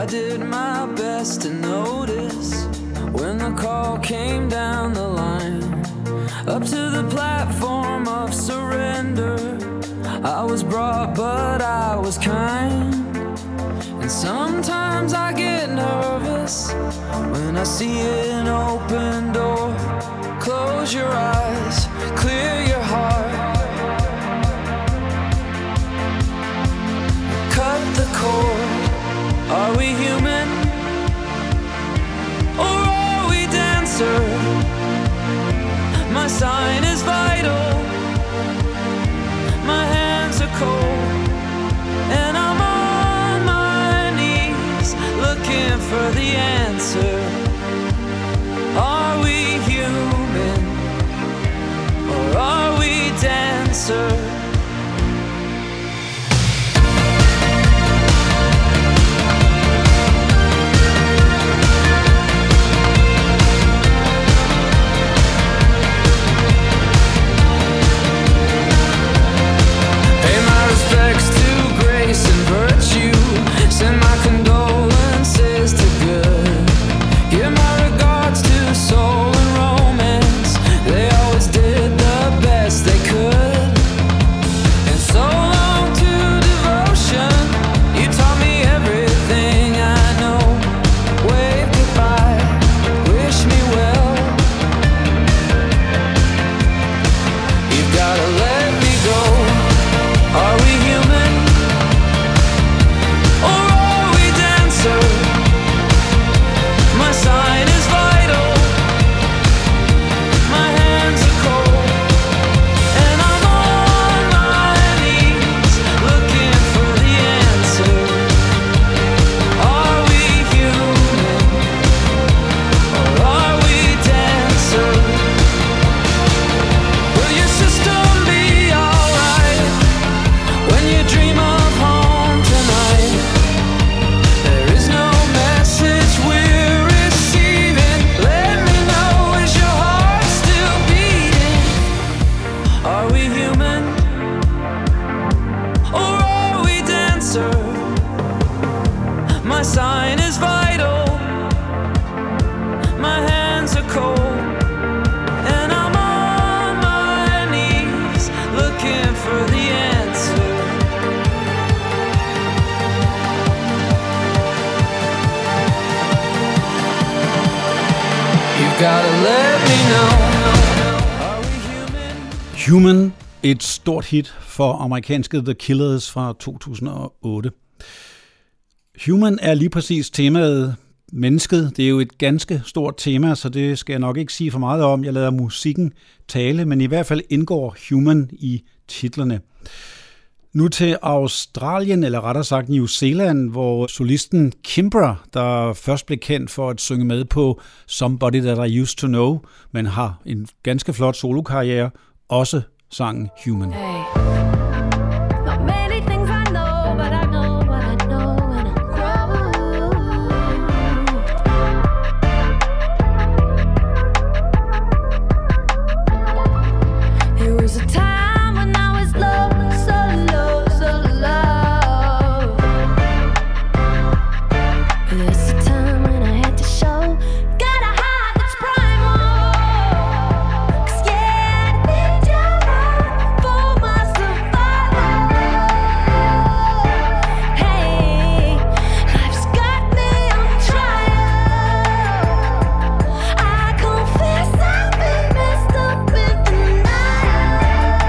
did my best to notice when the call came down the line, up to the platform of surrender. I was brought, but I was kind. And sometimes I get nervous when I see an open door. Close your eyes, clear your heart, cut the cord. Are we human, or are we dancer? My sign is vital, my hands are cold, and I'm on my knees looking for the answer. Are we human, or are we dancer? Send my condolences to good. Give my regards to soul and romance. They always did the best they could. And so long to devotion. You taught me everything I know. Wave goodbye, wish me well. You've gotta let me go. Are we human? My sign is vital, my hands are cold, and I'm on my knees looking for the answer. Are we human, or are we dancer? Will your system be alright when you dream of home tonight? There is no message we're receiving. Let me know, is your heart still beating? Are we human, or are we dancer? My sign is vital, my hands are cold, and I'm on my knees looking for the answer. Gotta let me know. Are we human? Human, et stort hit for amerikanske The Killers fra 2008. Human er lige præcis temaet mennesket. Det er jo et ganske stort tema, så det skal jeg nok ikke sige for meget om. Jeg lader musikken tale, men i hvert fald indgår human i titlerne. Nu til Australien, eller rettere sagt New Zealand, hvor solisten Kimbra, der først blev kendt for at synge med på Somebody That I Used To Know, men har en ganske flot solokarriere, også sang Human. Hey. Not many things I know, but I know what I know when I grow. There was a time when I was low, so low, so low. There's a time when I had to show, got a heart that's primal. 'Cause yeah, I need your love for my survival. Hey, life's got me on trial. I confess I've been messed up in the night.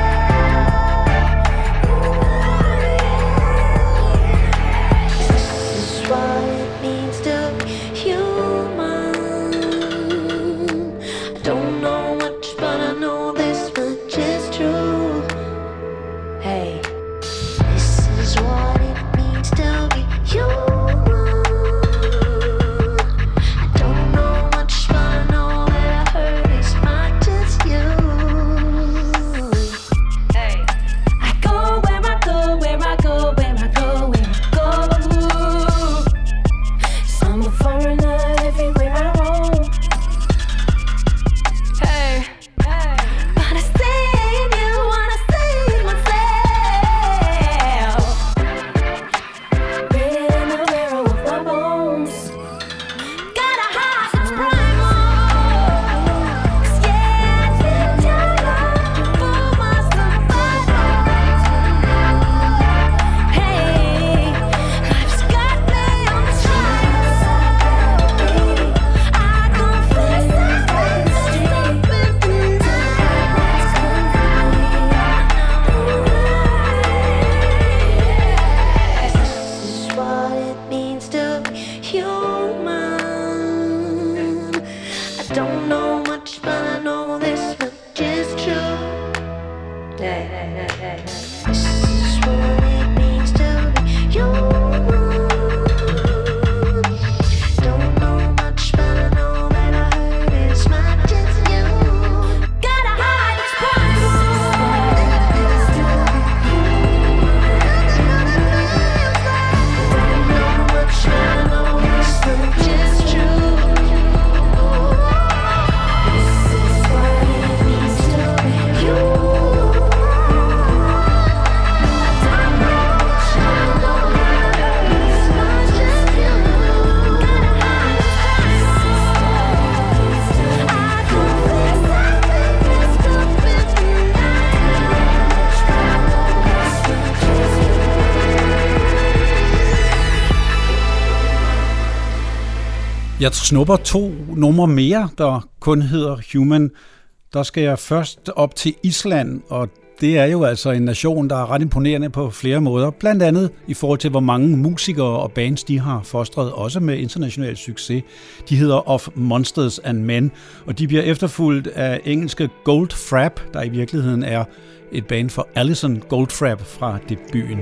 Jeg snupper 2 numre mere, der kun hedder Human. Der skal jeg først op til Island, og det er jo altså en nation, der er ret imponerende på flere måder. Blandt andet i forhold til, hvor mange musikere og bands de har fostret, også med international succes. De hedder Of Monsters and Men, og de bliver efterfulgt af engelske Goldfrapp, der i virkeligheden er et band for Alison Goldfrapp fra debuten.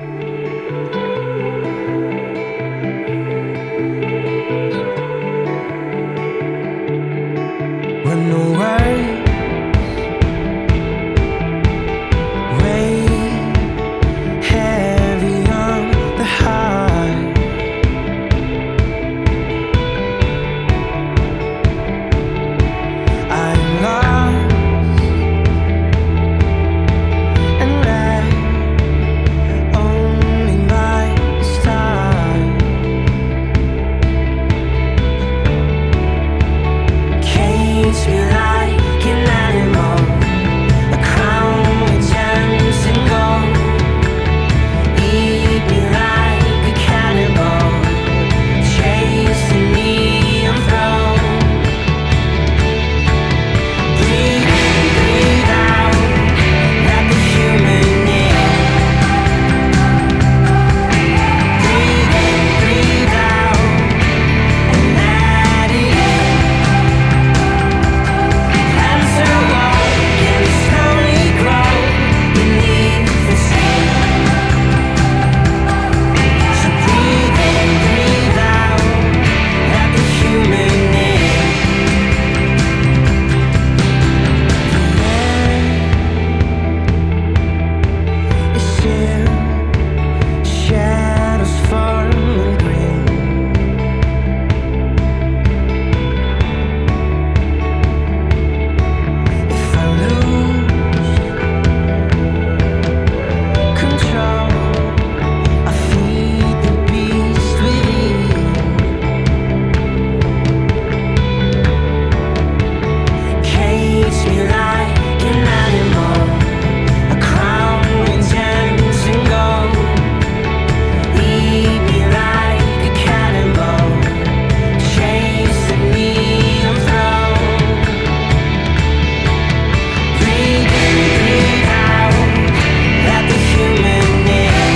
When the world weighed heavy on the heart, I'm lost and led only by the stars. Cage me like an animal, a crown with gems and gold. Eat me like a cannibal, chasing me on throne. Breathe in, breathe out, let the human in. Breathe in, breathe out, and let it in. Plants are walk and slowly grow beneath the sea. So breathe in, breathe out, let the human in. The air is still, shadows form and grin. If I lose control, I feed the beast within. Cage me like an animal, a crown with gems and gold. Eat me like a cannibal, chasing me on throne. Breathe in, breathe out, let the human in.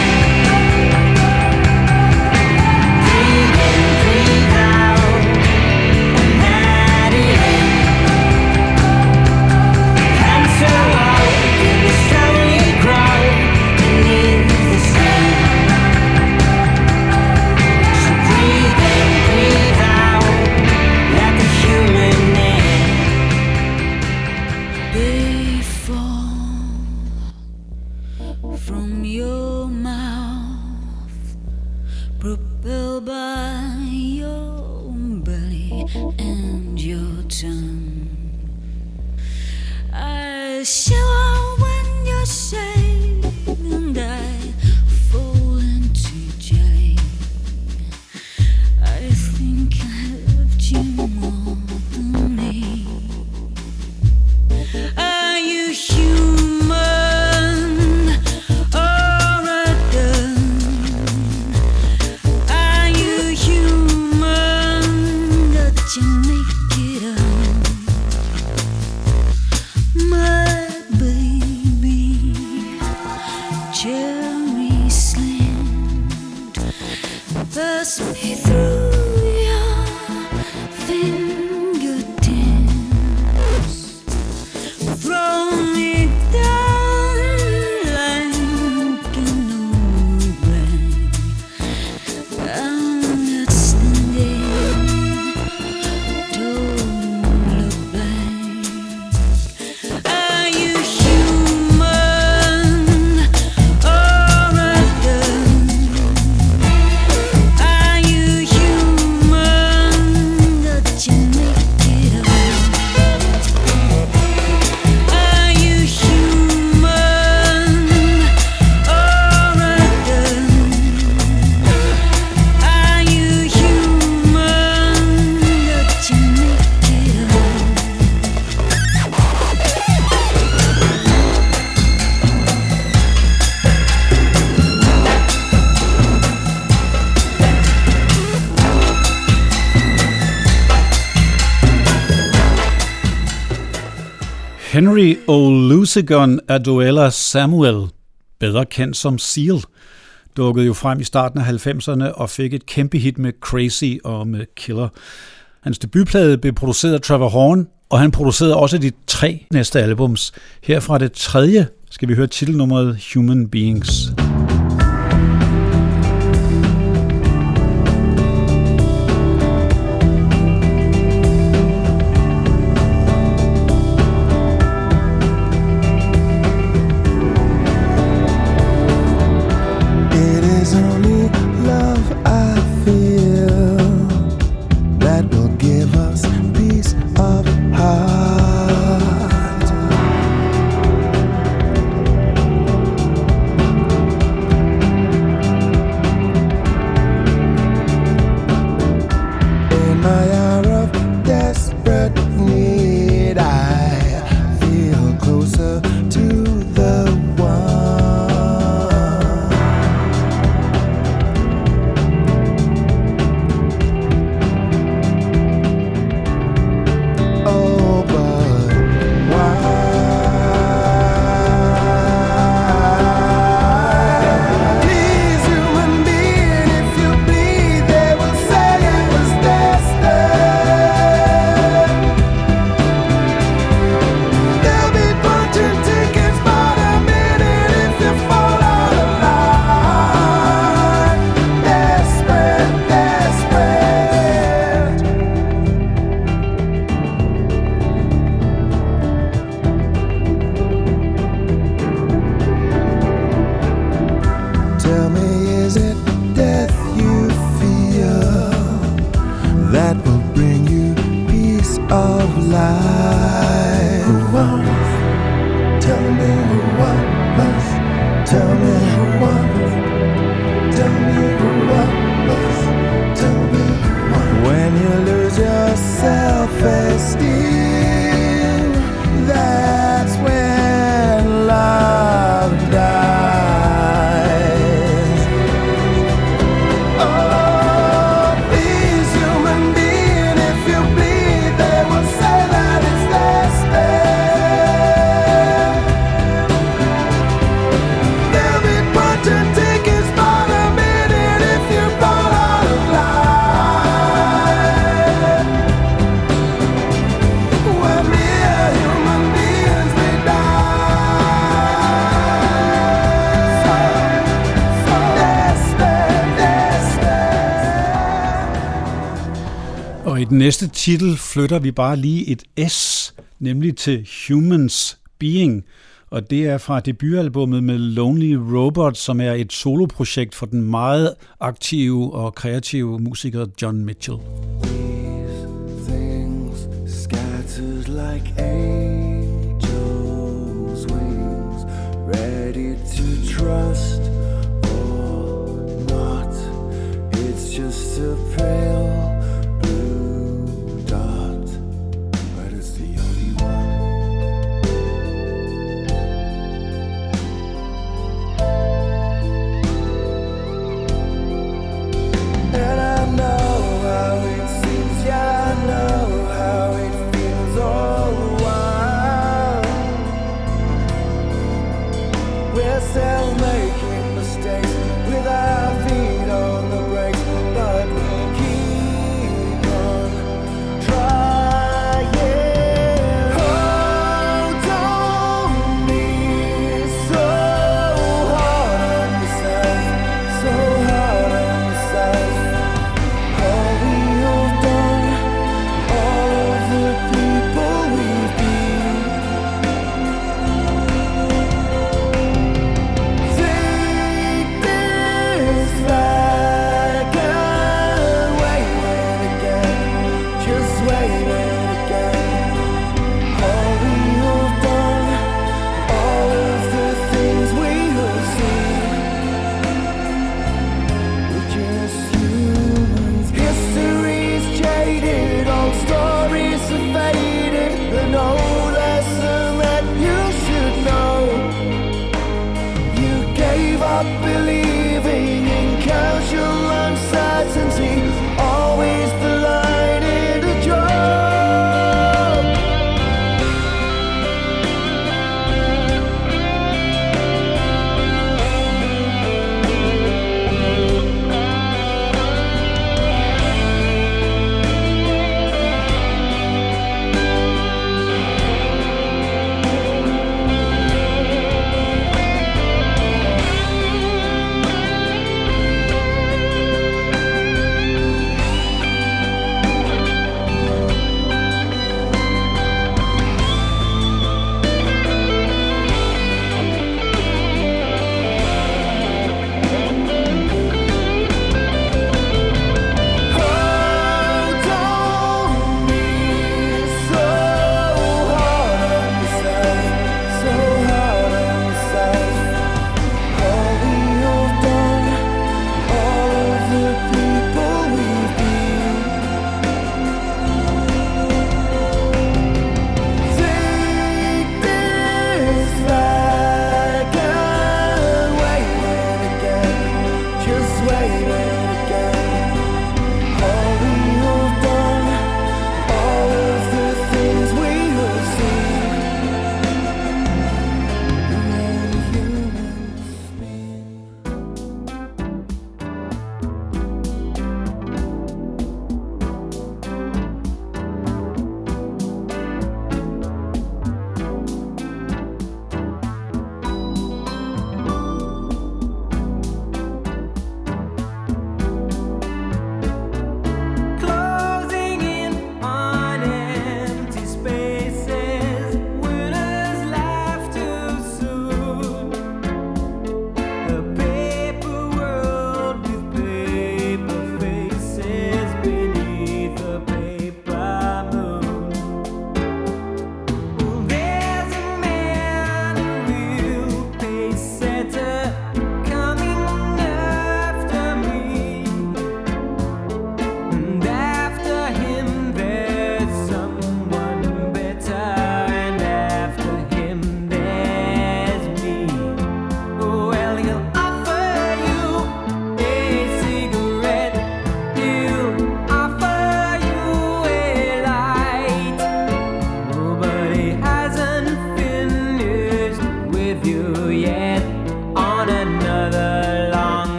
Breathe in, breathe out, and let it in. Plants are walk and slowly grow beneath the sea. So breathe in, breathe out, let the human in. They fall from your mouth, propelled by your belly and your tongue. I shiver when you say, and I fall into jelly. I think I loved you more than me. Are you human or a done? Are you human that you make it up? My baby, cherry slant, pass me through your fingertips. Throw me down Henry Olusegun Aduela Samuel, bedre kendt som Seal, dukkede jo frem i starten af 90'erne og fik et kæmpe hit med Crazy og med Killer. Hans debutplade blev produceret af Trevor Horn, og han producerede også de 3 næste albums. Herfra det 3. skal vi høre titelnummeret Human Beings. Den næste titel flytter vi bare lige et S, nemlig til Humans Being, og det er fra debutalbummet med Lonely Robot, som er et soloprojekt for den meget aktive og kreative musiker John Mitchell. These things scattered like angels' wings, ready to trust or not. It's just a pale this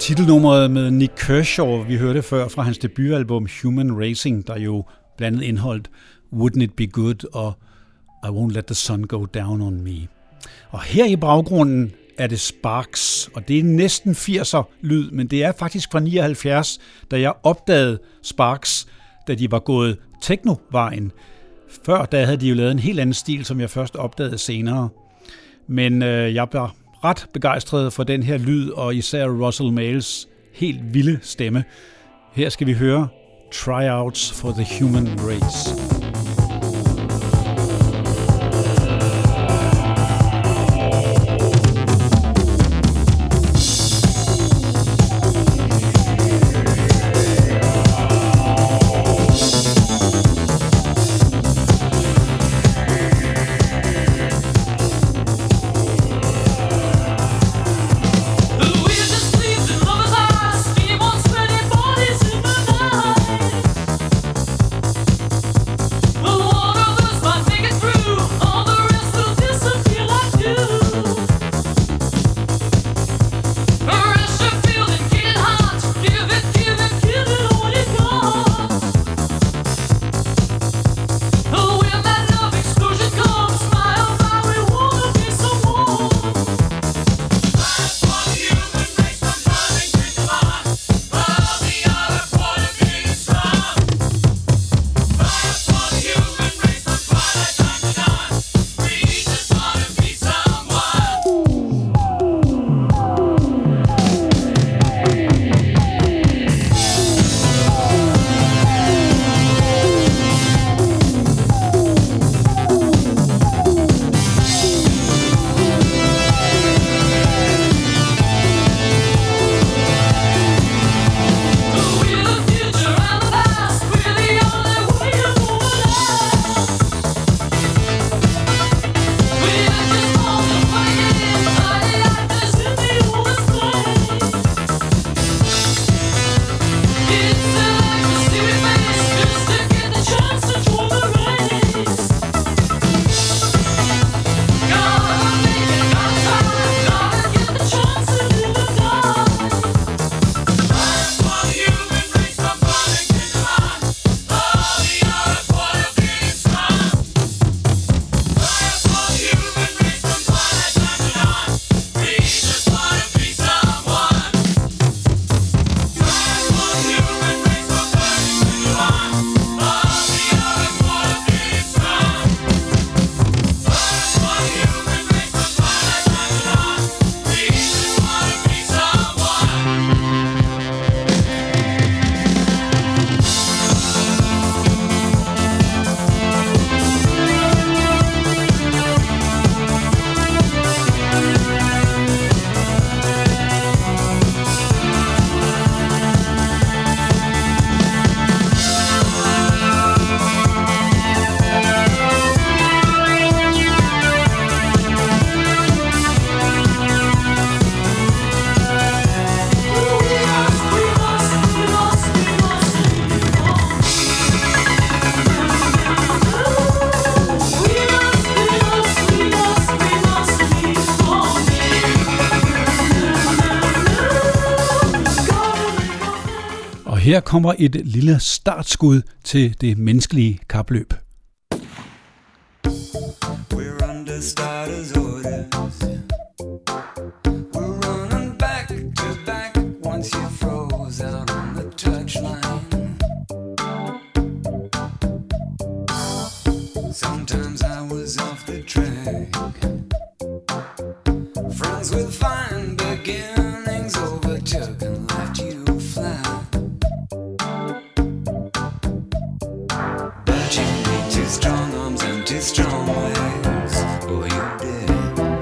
Titelnummeret med Nick Kershaw, vi hørte før fra hans debutalbum Human Racing, der jo blandt andet indholdt Wouldn't It Be Good og I Won't Let the Sun Go Down on Me. Og her i baggrunden er det Sparks, og det er næsten 80'er lyd, men det er faktisk fra 79, da jeg opdagede Sparks, da de var gået techno-vejen. Før da havde de jo lavet en helt anden stil, som jeg først opdagede senere. Men jeg var ret begejstret for den her lyd, og især Russell Males helt vilde stemme. Her skal vi høre Tryouts for the Human Race. Her kommer et lille startskud til det menneskelige kapløb. We're under starters orders. We're running back to back once you froze out on the touchline. Sometimes I was off the track. Friends with fine beginnings overtook and left you flat. But you need two strong arms and two strong legs, or you're dead.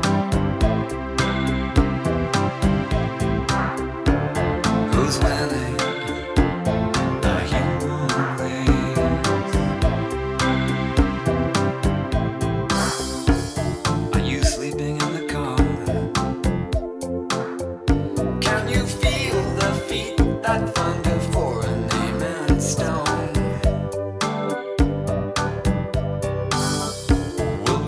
Who's winning? The human race. Are you sleeping in the car? Can you feel the feet that thunder for a name in stone? Will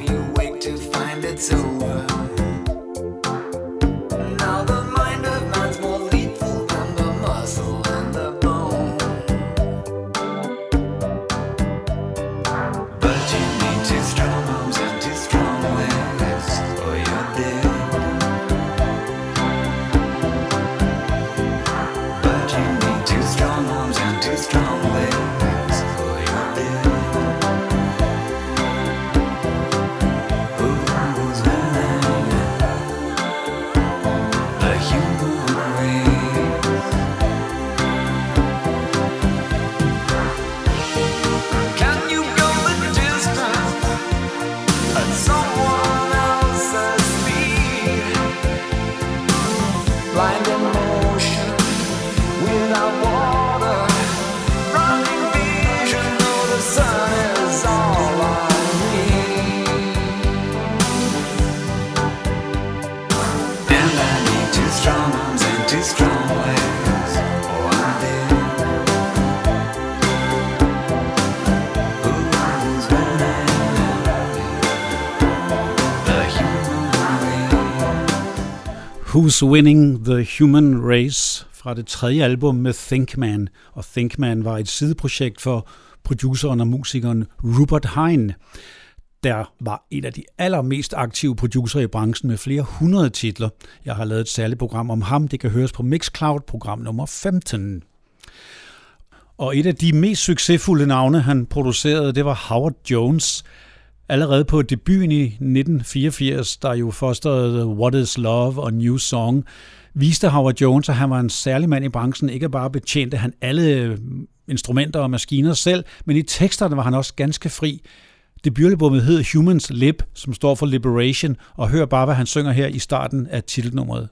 Who's Winning the Human Race fra det tredje album med Think Man. Og Think Man var et sideprojekt for produceren og musikeren Rupert Hine, der var en af de allermest aktive producer i branchen med flere 100 titler. Jeg har lavet et særligt program om ham. Det kan høres på Mixcloud, program nummer 15. Og et af de mest succesfulde navne, han producerede, det var Howard Jones. Allerede på debuten i 1984, der jo fosterede What is Love og New Song, viste Howard Jones, at han var en særlig mand i branchen. Ikke bare betjente han alle instrumenter og maskiner selv, men i teksterne var han også ganske fri. Debutalbummet hed Humans Lib, som står for Liberation, og hør bare, hvad han synger her i starten af titelnummeret.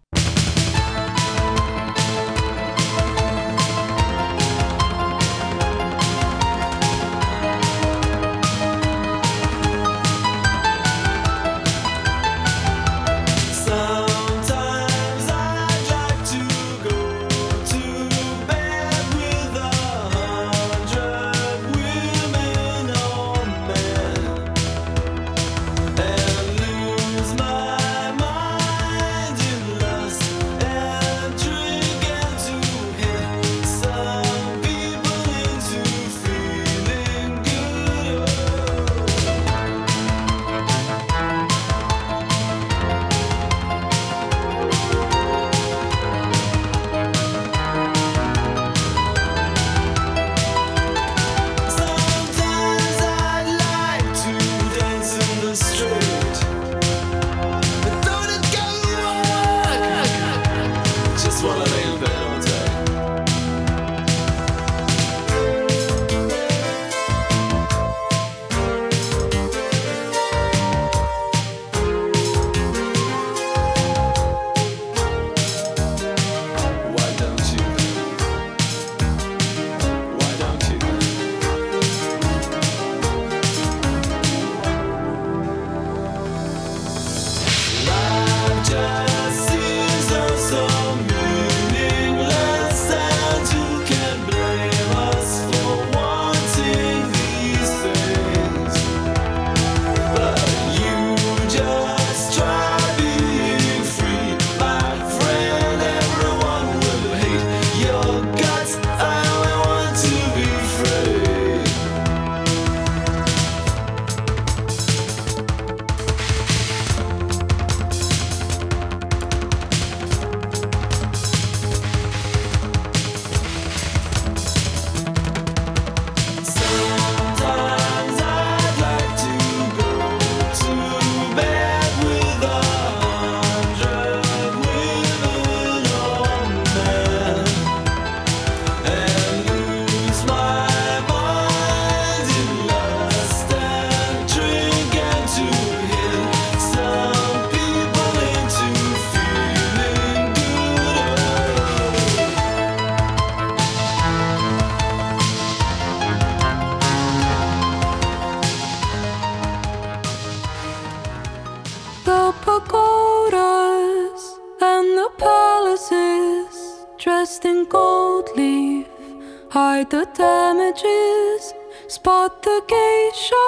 dressed in gold leaf, hide the damages, spot the geisha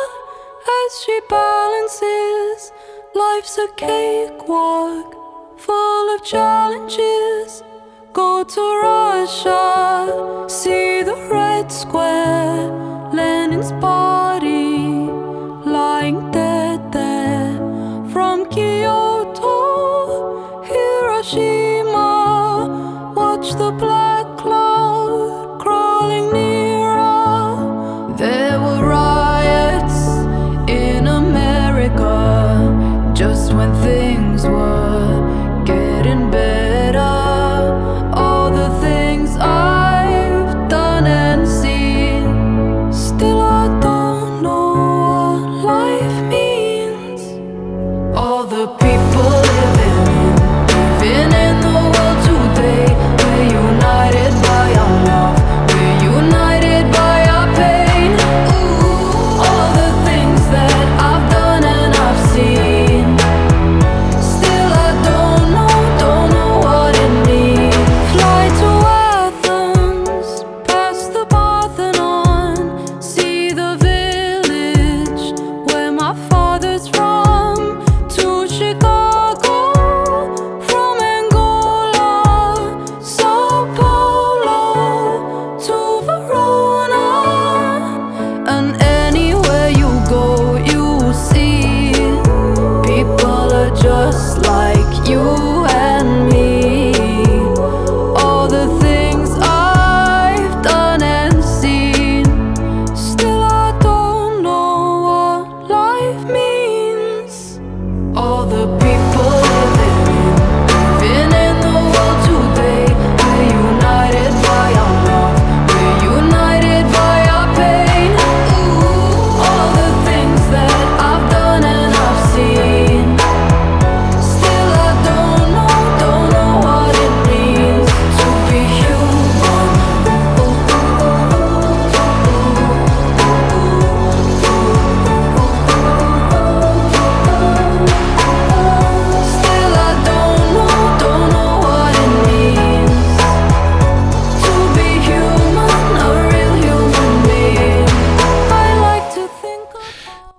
as she balances. Life's a cakewalk full of challenges. Go to Russia, see the Red Square, Lenin's body lying dead there. From Kyoto, Hiroshima, watch the black cloud crawling nearer. There were riots in America just when things were getting better. All the things I've done and seen, still I don't know what life means. All the people living in the world today, we're united by our love, we're united by our pain. Ooh, all the things that I've done and I've seen,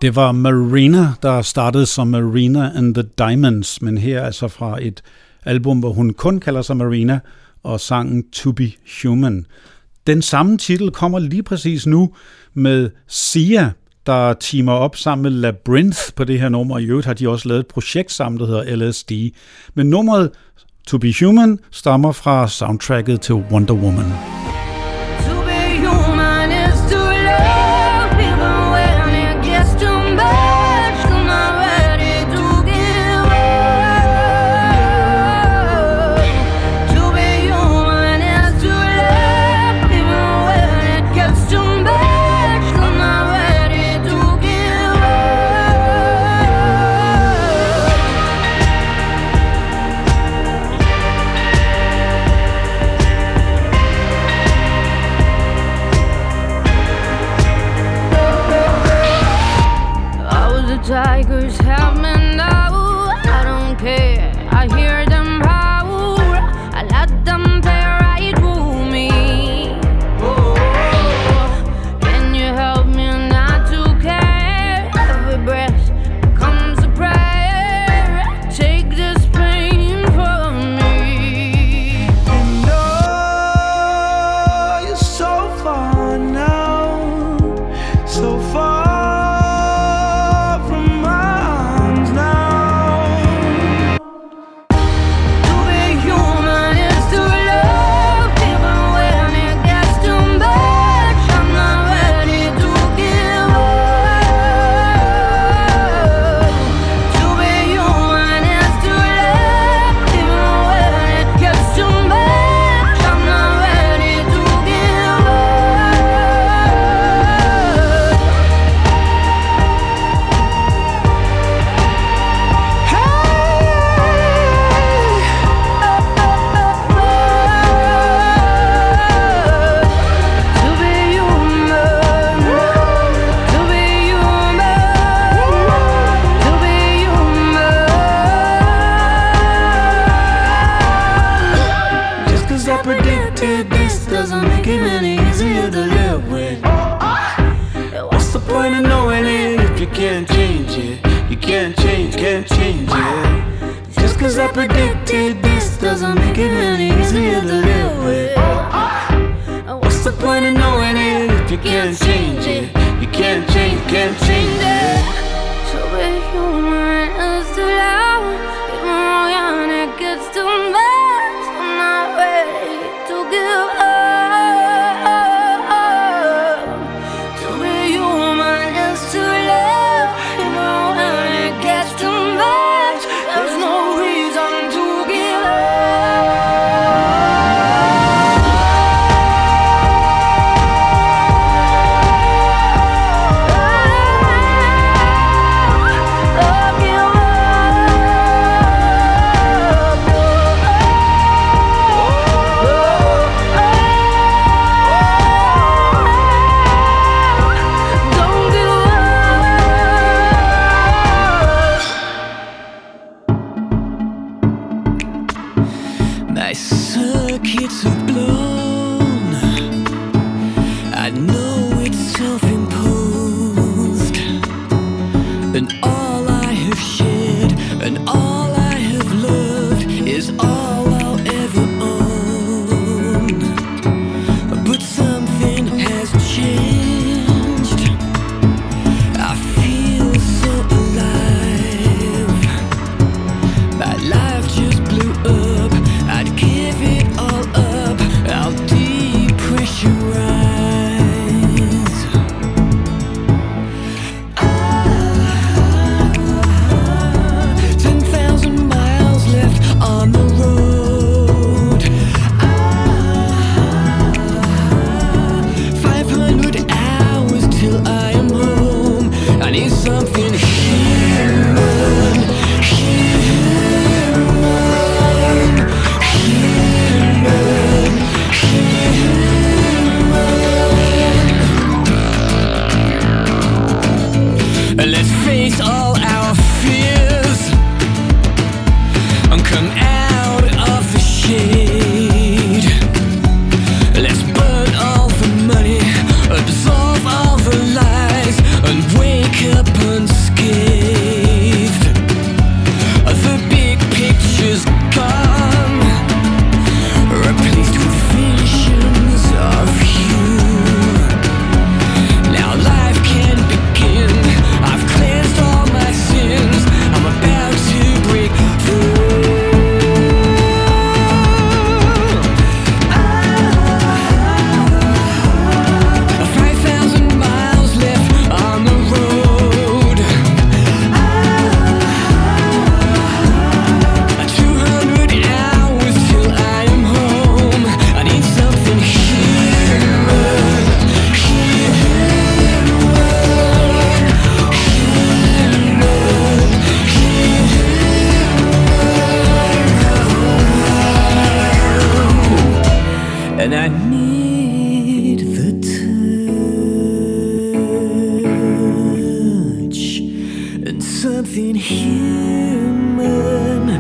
Det var Marina, der startede som Marina and the Diamonds, men her altså fra et album, hvor hun kun kalder sig Marina, og sangen To Be Human. Den samme titel kommer lige præcis nu med Sia, der teamer op sammen med Labyrinth på det her nummer. I øvrigt har de også lavet et projekt sammen, der hedder LSD. Men nummeret To Be Human stammer fra soundtracket til Wonder Woman. To be human is to love, even when it gets too much. 'Cause I'm not ready to give up. To be human is to love, even when it gets too much. 'Cause I'm not ready to give up. Tigers have me now. I don't care. I hear them howl. I let them play right through me. Can you help me not to care? Every breath becomes a prayer. Take this pain from me. And oh, you're so far now, so far. Absorb all the lies and wake up something human,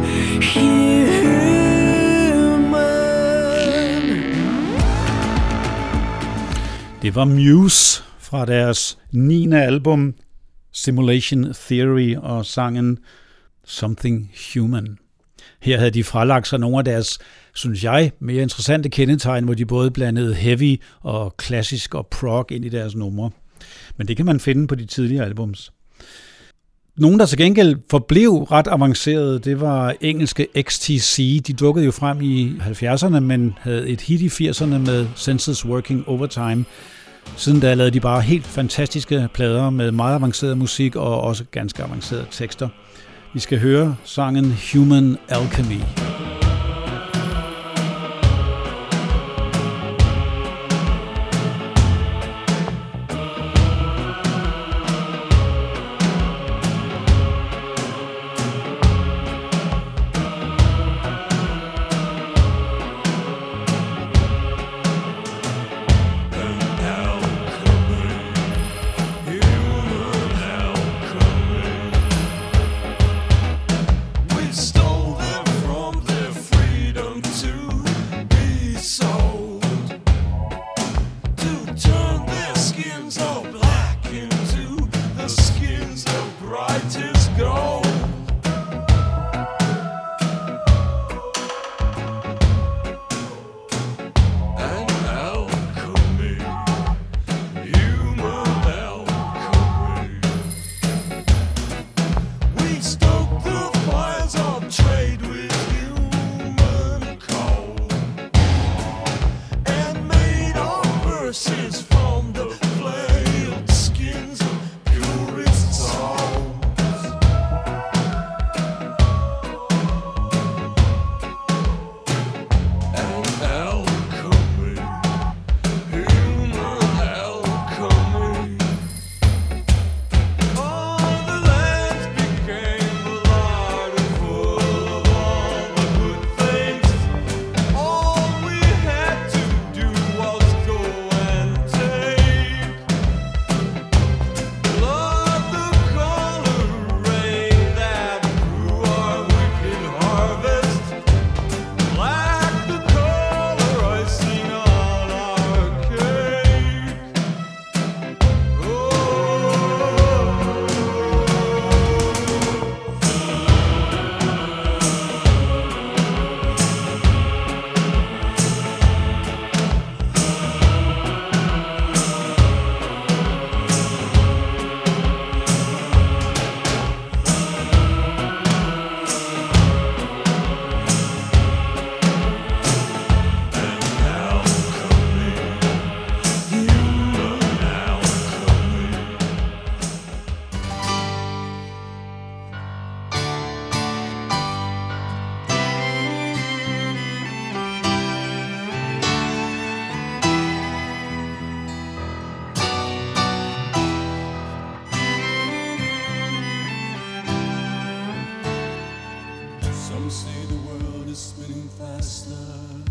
human. Det var Muse fra deres 9. album Simulation Theory og sangen Something Human. Her havde de fralagt sig nogle af deres, synes jeg, mere interessante kendetegn, hvor de både blandede heavy og klassisk og prog ind i deres numre. Men det kan man finde på de tidligere albums. Nogen, der til gengæld forblev ret avancerede, det var engelske XTC. De dukkede jo frem i 70'erne, men havde et hit i 80'erne med Senses Working Overtime. Siden da lavede de bare helt fantastiske plader med meget avanceret musik og også ganske avancerede tekster. Vi skal høre sangen Human Alchemy. Stole them from their freedom to be sold, to turn their skins all black into the skins of brightest gold. An alchemy, human alchemy. We stoke the fires of trade with human coal, and made our purses from the flailed skins of purest souls. An alchemy, human alchemy. All the lands became alive and full of all the good things. All we had to do was go and take. Love the color rain that grew our wicked harvest. Black the color icing on our cake. Oh. Some say the world is spinning faster.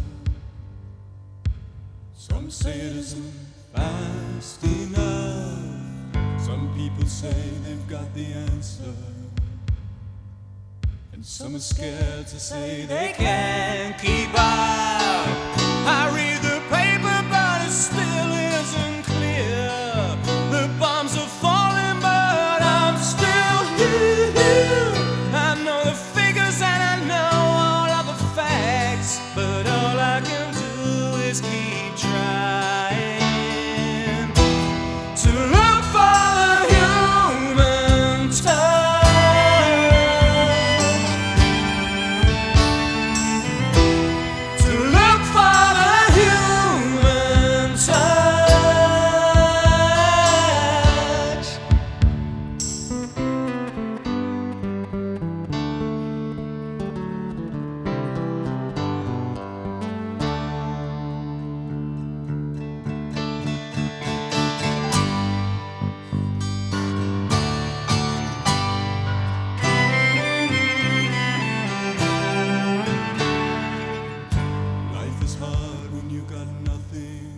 Some say it isn't fast enough. Some people say they've got the answer, and some are scared to say they can't keep up. I read the paper, but it still isn't clear. The bombs are falling, but I'm still here. I know the figures and I know all of the facts, but all I can do is keep trying to look for the human touch, to look for the human touch. Life is hard when you got nothing.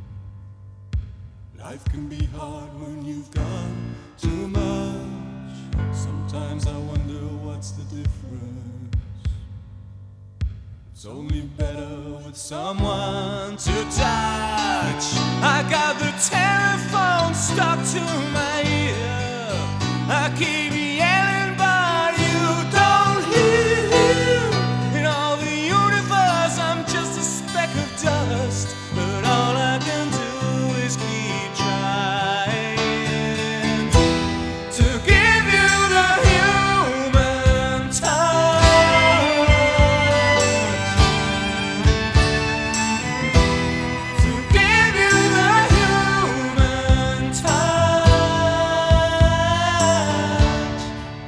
Life can be hard when you've got too much. Sometimes I wonder what's the difference. It's only better with someone to touch. I got the telephone stuck to my ear. I keep yelling but you don't hear. In all the universe I'm just a speck of dust, but all I can do is keep trying to give you the human touch, to give you the human touch.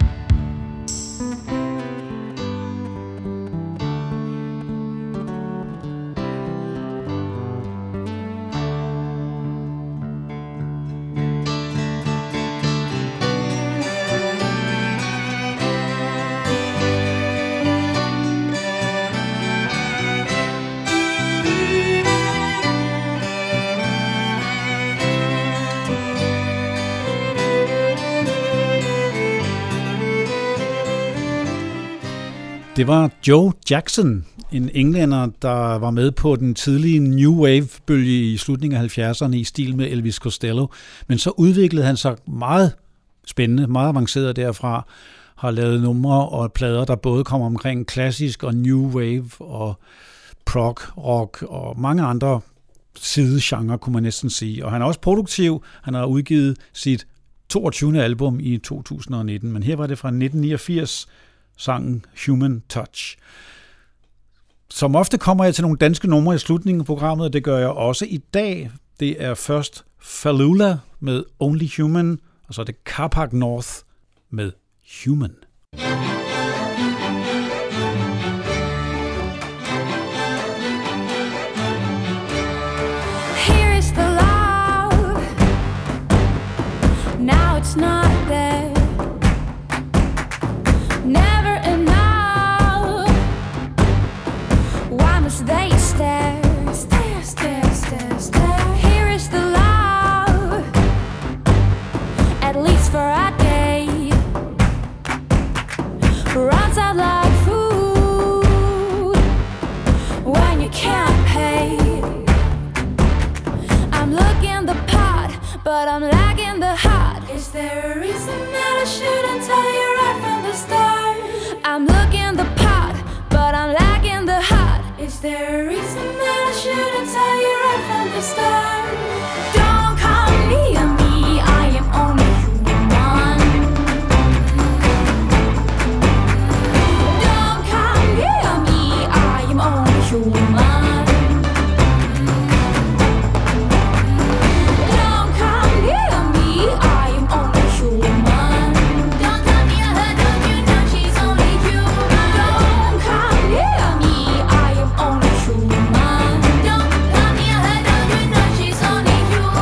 Det var Joe Jackson, en englænder, der var med på den tidlige New Wave-bølge i slutningen af 70'erne i stil med Elvis Costello. Men så udviklede han sig meget spændende, meget avanceret derfra, har lavet numre og plader, der både kommer omkring klassisk og New Wave og prog, rock og mange andre sidegenre, kunne man næsten sige. Og han er også produktiv. Han har udgivet sit 22. album i 2019, men her var det fra 1989, sangen Human Touch. Som ofte kommer jeg til nogle danske numre i slutningen af programmet, og det gør jeg også i dag. Det er først Falula med Only Human, og så er det Carpark North med Human. Here is the love. Now it's not there. Never enough. Why must they stare? Stare, stare, stare, stare. Here is the love. At least for a day. Runs out like food when you can't pay. I'm looking the pot, but I'm lacking the heart. Is there a reason that I shouldn't tell you right from the start? I'm looking the pot, but I'm lacking the heart. Is there a reason that I shouldn't tell you right from the start? Don't come near me, I am only human. Don't come near me, I am only human. Don't come near me, I am only human. Don't come near her, don't you know she's only human? Don't come near me, I am only human. Don't come near her, don't you know she's only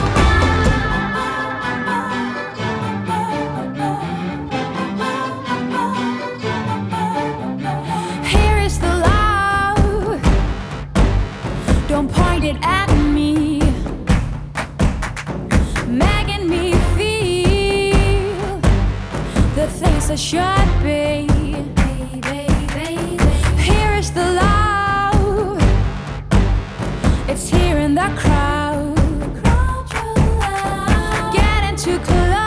human? Here is the love. Don't point it at me, making me feel the things I should be. Here is the love. It's here in the crowd. Getting too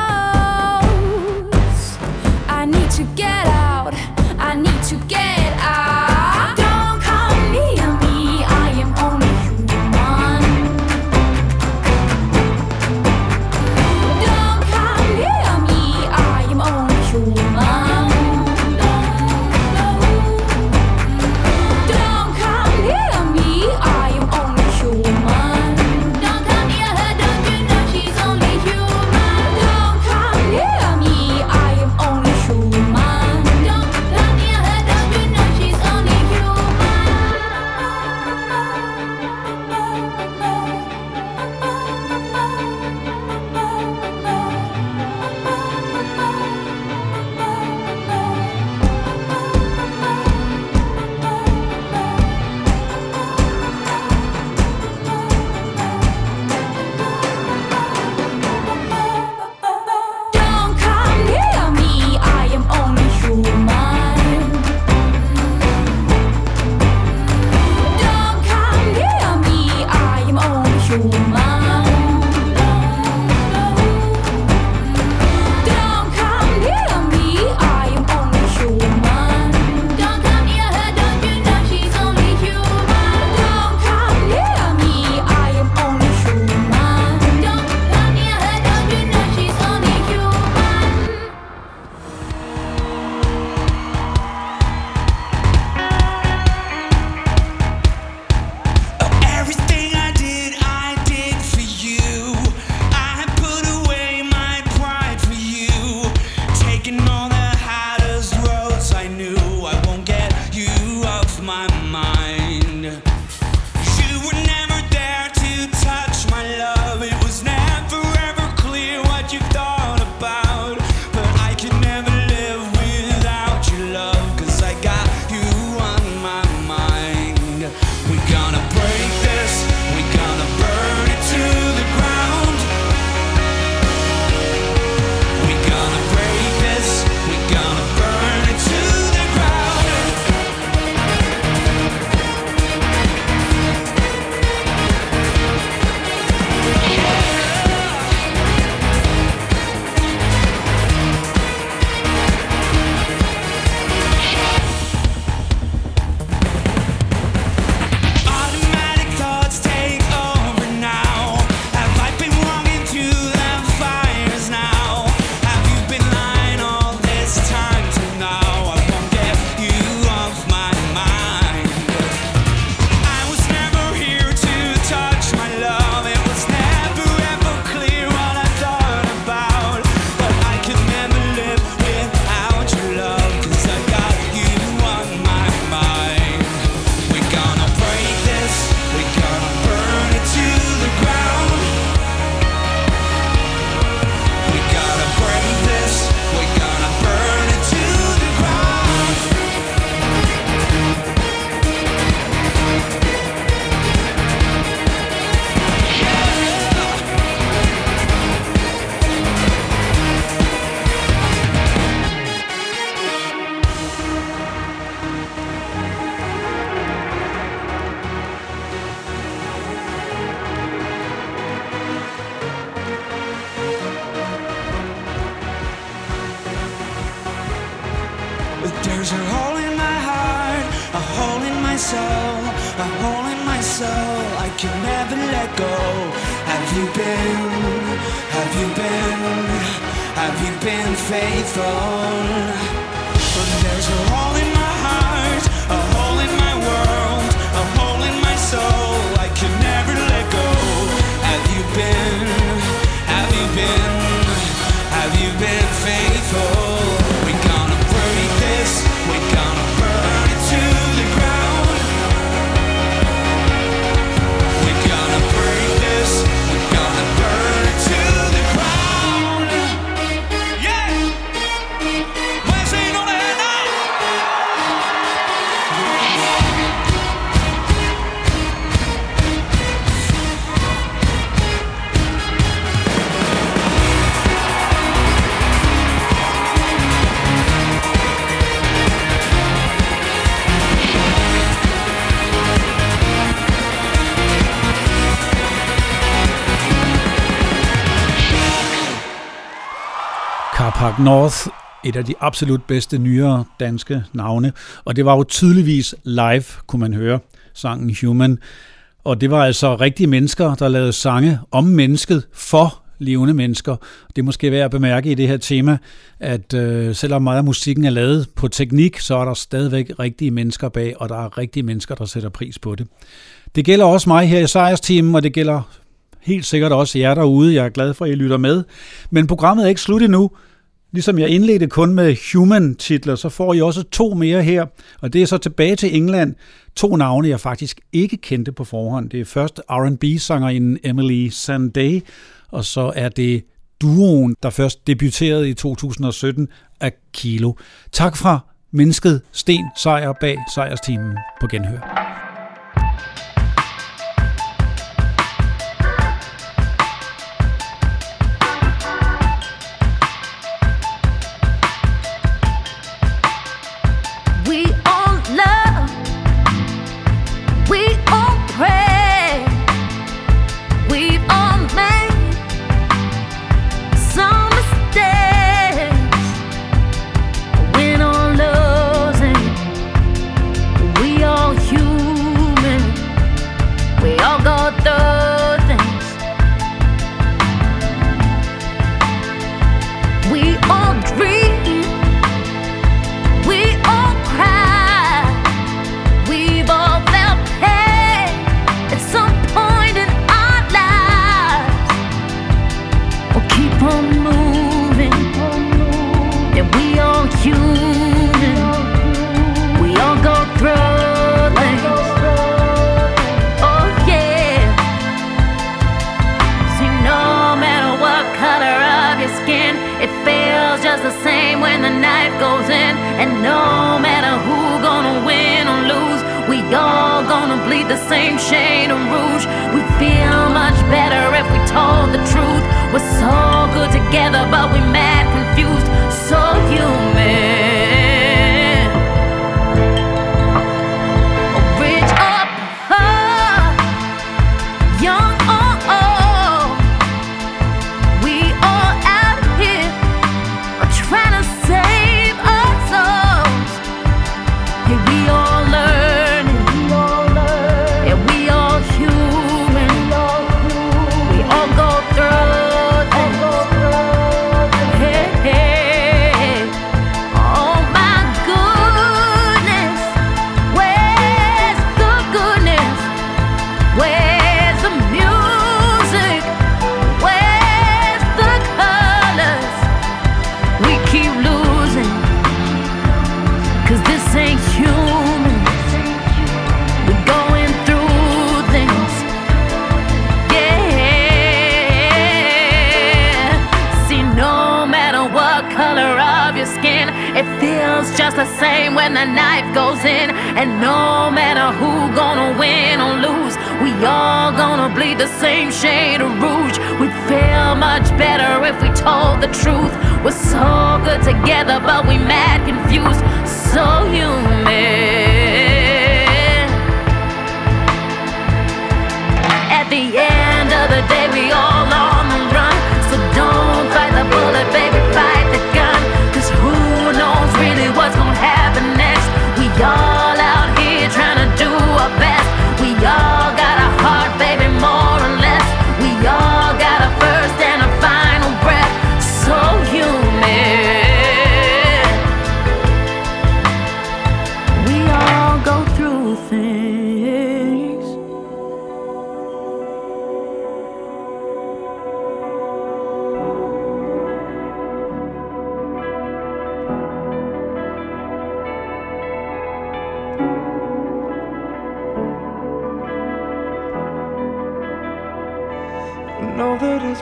close. I need to get out. I need to get out. Don't come near me, I am only human. Don't come near me, I am only human. Don't come near me, I am only human. There's a hole in my heart, a hole in my soul, a hole in my soul I can never let go. Have you been faithful? There's a hole in my heart, a hole in my world, a hole in my soul I can never let go. Have you been faithful? We're gonna break this, we're gonna burn it to the ground. We're gonna break this, we're gonna burn it to the ground. Yeah! Well, so you know that now. Carpark North, et af de absolut bedste nyere danske navne, og det var jo tydeligvis live, kunne man høre, sangen Human. Og det var altså rigtige mennesker, der lavede sange om mennesket for levende mennesker. Det er måske værd at bemærke i det her tema, at selvom meget af musikken er lavet på teknik, så er der stadigvæk rigtige mennesker bag, og der er rigtige mennesker, der sætter pris på det. Det gælder også mig her i Sejrsteamen, og det gælder helt sikkert også jer derude. Jeg er glad for, at I lytter med. Men programmet er ikke slut endnu. Ligesom jeg indledte kun med Human-titler, så får I også 2 mere her. Og det er så tilbage til England. 2 navne, jeg faktisk ikke kendte på forhånd. Det er først R&B-sangerinden Emily Sandé, og så er det duoen, der først debuterede i 2017 af Kilo. Tak fra mennesket Sten Sejer bag Sejrsteamen på Genhør. We all love, we all pray, we've all made some mistakes. Win or losing, we all human, we all go through things. We all dream, we all cry, we've all felt pain at some point in our lives. We'll keep on moving, and we all human, we all go through things. Oh yeah. See, no matter what color of your skin, it feels just the same when the knife goes in. And no matter who gonna win or lose, we all gonna bleed the same shade of rouge. We feel much better if we told the truth. We're so good together, but we mad confused, so human. Rich or poor, young or old, we all out here are trying to save our souls. Hey, we all learning, and we all human, we all go through things. Hey, hey. Oh my goodness, where's the goodness? Where's the music? Where's the colors? We keep losing, 'cause this ain't human. We're going through things. Yeah. See, no matter what color of your skin, it feels just the same when the knife goes in. And no matter who gonna win or lose, we all gonna bleed the same shade of rouge. We'd feel much better if we told the truth. We're so good together, but we mad confused, so human. At the end of the day, we all on the run. So don't fight the bullet, baby, fight the gun. 'Cause who knows really what's gonna happen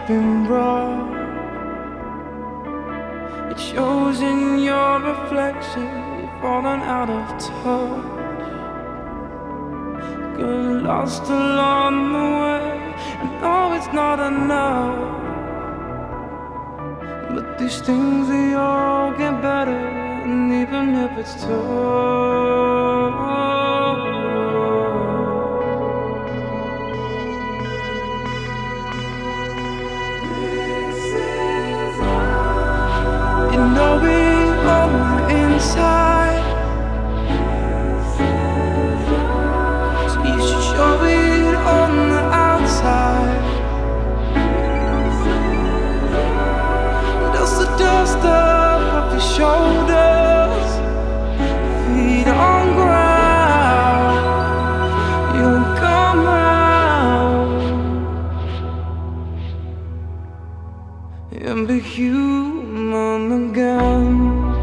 been brought. It shows in your reflection. You've fallen out of touch. Got lost along the way. I know it's not enough, but these things, they all get better. And even if it's tough, you know it on the inside, so you should show it on the outside. Dust the dust off your shoulders, feet on ground, you'll come out and be human again.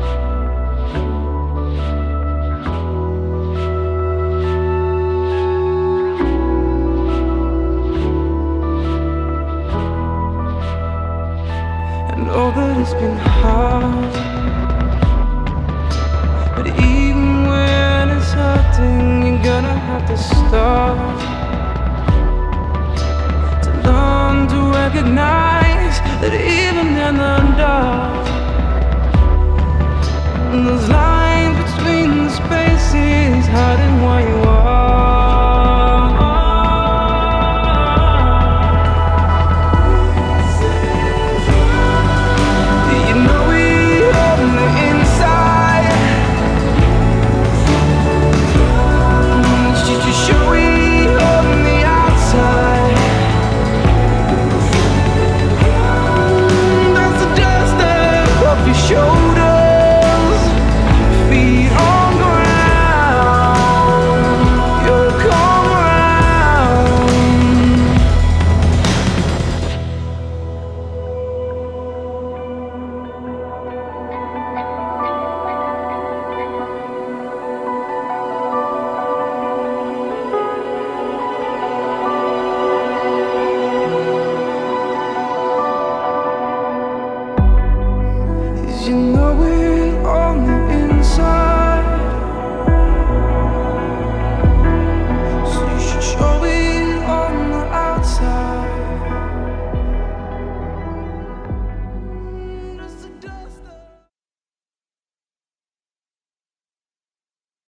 I know that it's been hard, but even when it's hurting, you're gonna have to start to learn to recognize that even in the